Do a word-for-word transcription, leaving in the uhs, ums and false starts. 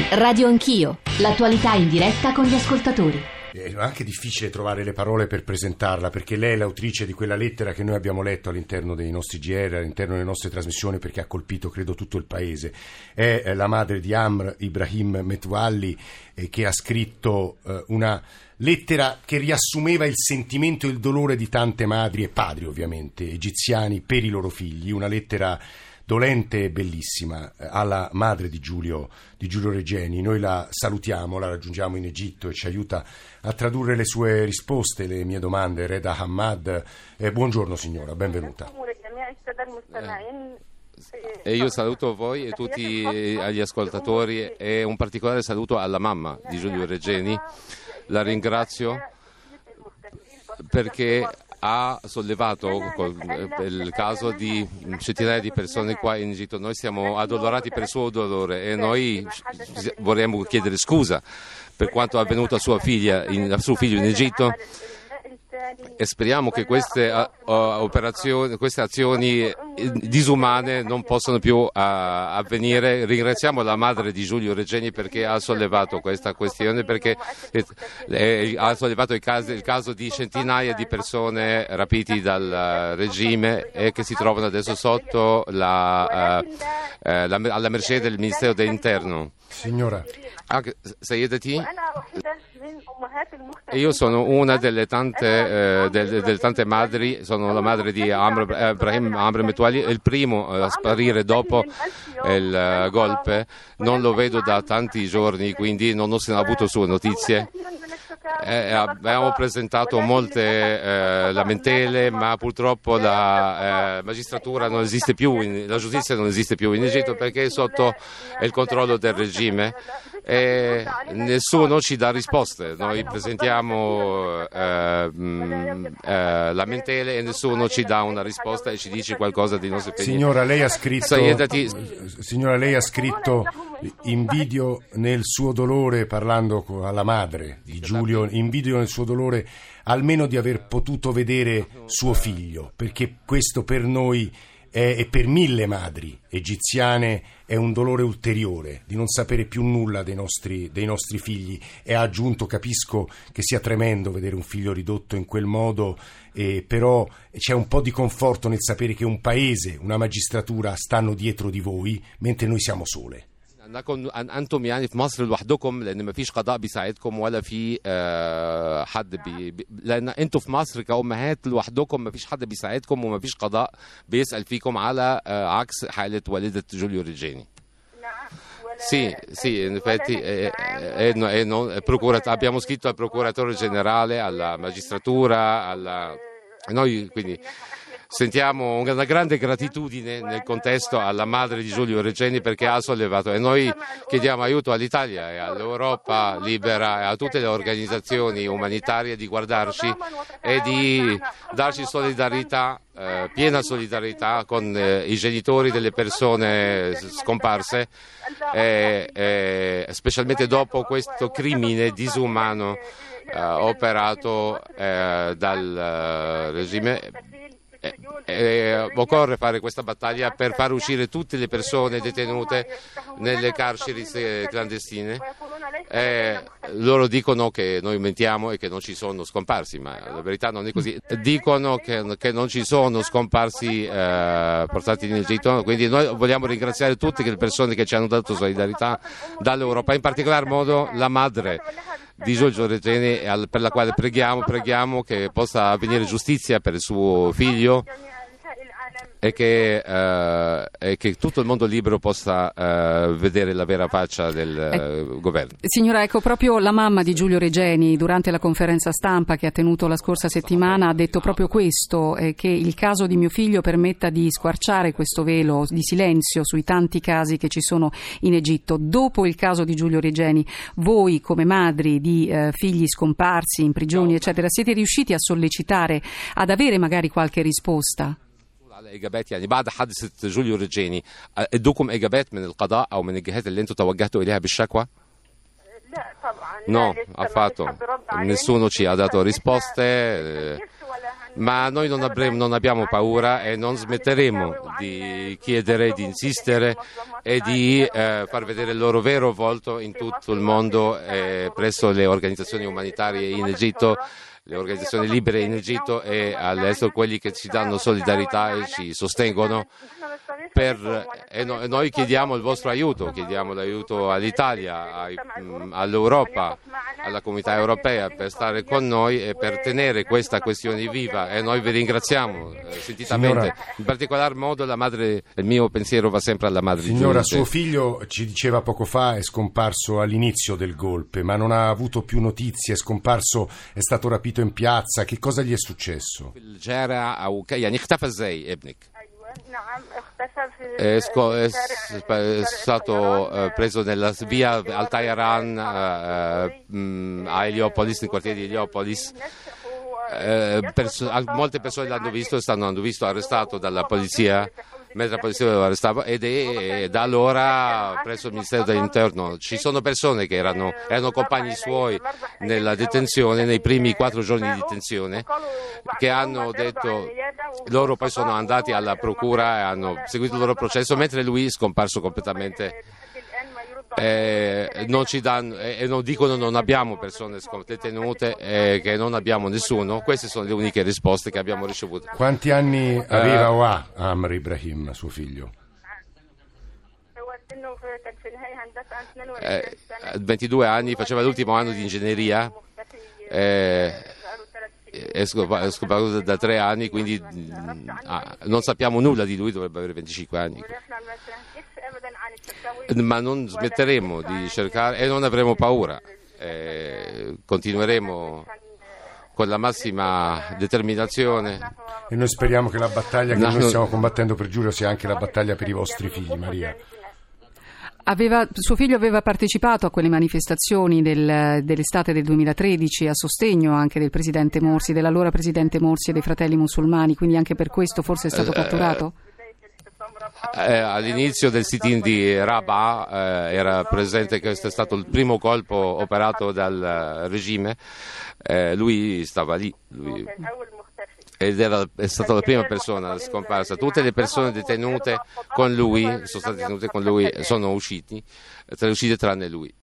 Radio Anch'io, l'attualità in diretta con gli ascoltatori. È anche difficile trovare le parole per presentarla, perché lei è l'autrice di quella lettera che noi abbiamo letto all'interno dei nostri G R, all'interno delle nostre trasmissioni, perché ha colpito credo tutto il paese. È la madre di Amr Ibrahim Metwalli, eh, che ha scritto eh, una lettera che riassumeva il sentimento e il dolore di tante madri e padri, ovviamente, egiziani per i loro figli. Una lettera dolente e bellissima alla madre di Giulio, di Giulio Regeni. Noi la salutiamo, la raggiungiamo in Egitto e ci aiuta a tradurre le sue risposte, le mie domande. Reda Hamad, eh, buongiorno signora, benvenuta. E io saluto voi e tutti gli ascoltatori e un particolare saluto alla mamma di Giulio Regeni. La ringrazio perché ha sollevato il caso di centinaia di persone qua in Egitto. Noi siamo addolorati per il suo dolore e noi vorremmo chiedere scusa per quanto è avvenuto a sua figlia, in, a suo figlio in Egitto, e speriamo che queste uh, operazioni, queste azioni disumane non possano più uh, avvenire. Ringraziamo la madre di Giulio Regeni perché ha sollevato questa questione, perché eh, eh, ha sollevato il caso, il caso di centinaia di persone rapiti dal uh, regime e che si trovano adesso sotto la, uh, uh, la, alla mercé del Ministero dell'Interno. Signora, Sayedati, io sono una delle tante, eh, delle, delle tante madri, sono la madre di Amr Ibrahim Amr Metwalli, il primo a sparire dopo il uh, golpe. Non lo vedo da tanti giorni, quindi non ho avuto sue notizie. Eh, abbiamo presentato molte eh, lamentele, ma purtroppo la eh, magistratura non esiste più, in, la giustizia non esiste più in Egitto perché è sotto il controllo del regime e nessuno ci dà risposte. Noi presentiamo eh, mh, eh, lamentele e nessuno ci dà una risposta e ci dice qualcosa di nostri figli. Signora, lei ha scritto, signora, lei ha scritto invidio nel suo dolore, parlando alla madre di Giulio, invidio nel suo dolore almeno di aver potuto vedere suo figlio, perché questo per noi è, e per mille madri egiziane è un dolore ulteriore di non sapere più nulla dei nostri, dei nostri figli. E ha aggiunto: capisco che sia tremendo vedere un figlio ridotto in quel modo, eh, però c'è un po' di conforto nel sapere che un paese, una magistratura stanno dietro di voi mentre noi siamo sole. أنكم أنتم يعني في مصر لوحدكم لأن ما فيش قضاء بيساعدكم ولا في حد بي لأن أنتم في مصر كأمهات لوحدكم ما فيش حد بيساعدكم وما فيش قضاء بيسأل فيكم على عكس حالة والدة جوليو ريجيني. Sì, sì, in effetti è, è, è, non, procura, abbiamo scritto al procuratore generale, alla magistratura, alla, noi quindi sentiamo una grande gratitudine nel contesto alla madre di Giulio Regeni perché ha sollevato, e noi chiediamo aiuto all'Italia e all'Europa libera e a tutte le organizzazioni umanitarie di guardarci e di darci solidarietà, eh, piena solidarietà con eh, i genitori delle persone scomparse, eh, eh, specialmente dopo questo crimine disumano eh, operato eh, dal eh, regime. Eh, eh, occorre fare questa battaglia per far uscire tutte le persone detenute nelle carceri clandestine. Eh, loro dicono che noi mentiamo e che non ci sono scomparsi, ma la verità non è così. Dicono che, che non ci sono scomparsi eh, portati in Egitto, quindi noi vogliamo ringraziare tutte le persone che ci hanno dato solidarietà dall'Europa, in particolar modo la madre di Giulio Regeni, per la quale preghiamo, preghiamo che possa avvenire giustizia per il suo figlio e che, eh, e che tutto il mondo libero possa eh, vedere la vera faccia del eh, governo. Signora, ecco, proprio la mamma di Giulio Regeni durante la conferenza stampa che ha tenuto la scorsa settimana ha detto proprio questo, eh, che il caso di mio figlio permetta di squarciare questo velo di silenzio sui tanti casi che ci sono in Egitto. Dopo il caso di Giulio Regeni, voi come madri di eh, figli scomparsi in prigioni eccetera, siete riusciti a sollecitare, ad avere magari qualche risposta? على إجابات يعني بعد حادثة جوليو ريجيني ادوكم إجابات من القضاء أو من الجهات اللي أنتوا توجهتوا إليها بالشكوى؟ No, affatto. Nessuno ci ha dato risposte. Ma noi non, avremo, non abbiamo paura e non smetteremo di chiedere, di insistere e di eh, far vedere il loro vero volto in tutto il mondo eh, presso le organizzazioni umanitarie in Egitto, le organizzazioni libere in Egitto e all'estero, quelli che ci danno solidarietà e ci sostengono. Per, e, no, e noi chiediamo il vostro aiuto, chiediamo l'aiuto all'Italia, ai, mh, all'Europa, alla comunità europea per stare con noi e per tenere questa questione viva, e noi vi ringraziamo eh, sentitamente. Signora, in particolar modo la madre, il mio pensiero va sempre alla madre. Signora, di suo figlio ci diceva poco fa è scomparso all'inizio del golpe, ma non ha avuto più notizie, è scomparso, è stato rapito in piazza, che cosa gli è successo? È, sco- è, è stato uh, preso nella via al Tairan uh, uh, a Heliopolis, nel quartiere di Heliopolis. Uh, perso- molte persone l'hanno visto e stanno hanno visto arrestato dalla polizia mentre la polizia lo arrestava, ed è da allora presso il Ministero dell'Interno ci sono persone che erano, erano compagni suoi nella detenzione, nei primi quattro giorni di detenzione, che hanno detto, loro poi sono andati alla procura e hanno seguito il loro processo, mentre lui è scomparso completamente. Eh, non ci danno e eh, non dicono non abbiamo persone detenute e eh, che non abbiamo nessuno. Queste sono le uniche risposte che abbiamo ricevuto. Quanti anni aveva o ha Amr Ibrahim, suo figlio? Eh, ventidue anni, faceva l'ultimo anno di ingegneria, eh, è scomparso da tre anni, quindi ah, non sappiamo nulla di lui, dovrebbe avere venticinque anni. Ma non smetteremo di cercare e non avremo paura, eh, continueremo con la massima determinazione. E noi speriamo che la battaglia che no, noi non... stiamo combattendo per Giulio sia anche la battaglia per i vostri figli, Maria. Aveva, suo figlio aveva partecipato a quelle manifestazioni del, dell'estate del duemilatredici a sostegno anche del presidente Morsi, dell'allora presidente Morsi e dei fratelli musulmani, quindi anche per questo forse è stato catturato? Eh, all'inizio del sit-in di Rabaa eh, era presente, questo è stato il primo colpo operato dal regime, eh, lui stava lì lui, ed era, è stata la prima persona scomparsa. Tutte le persone detenute con lui sono state detenute con lui, sono usciti, uscite tranne lui.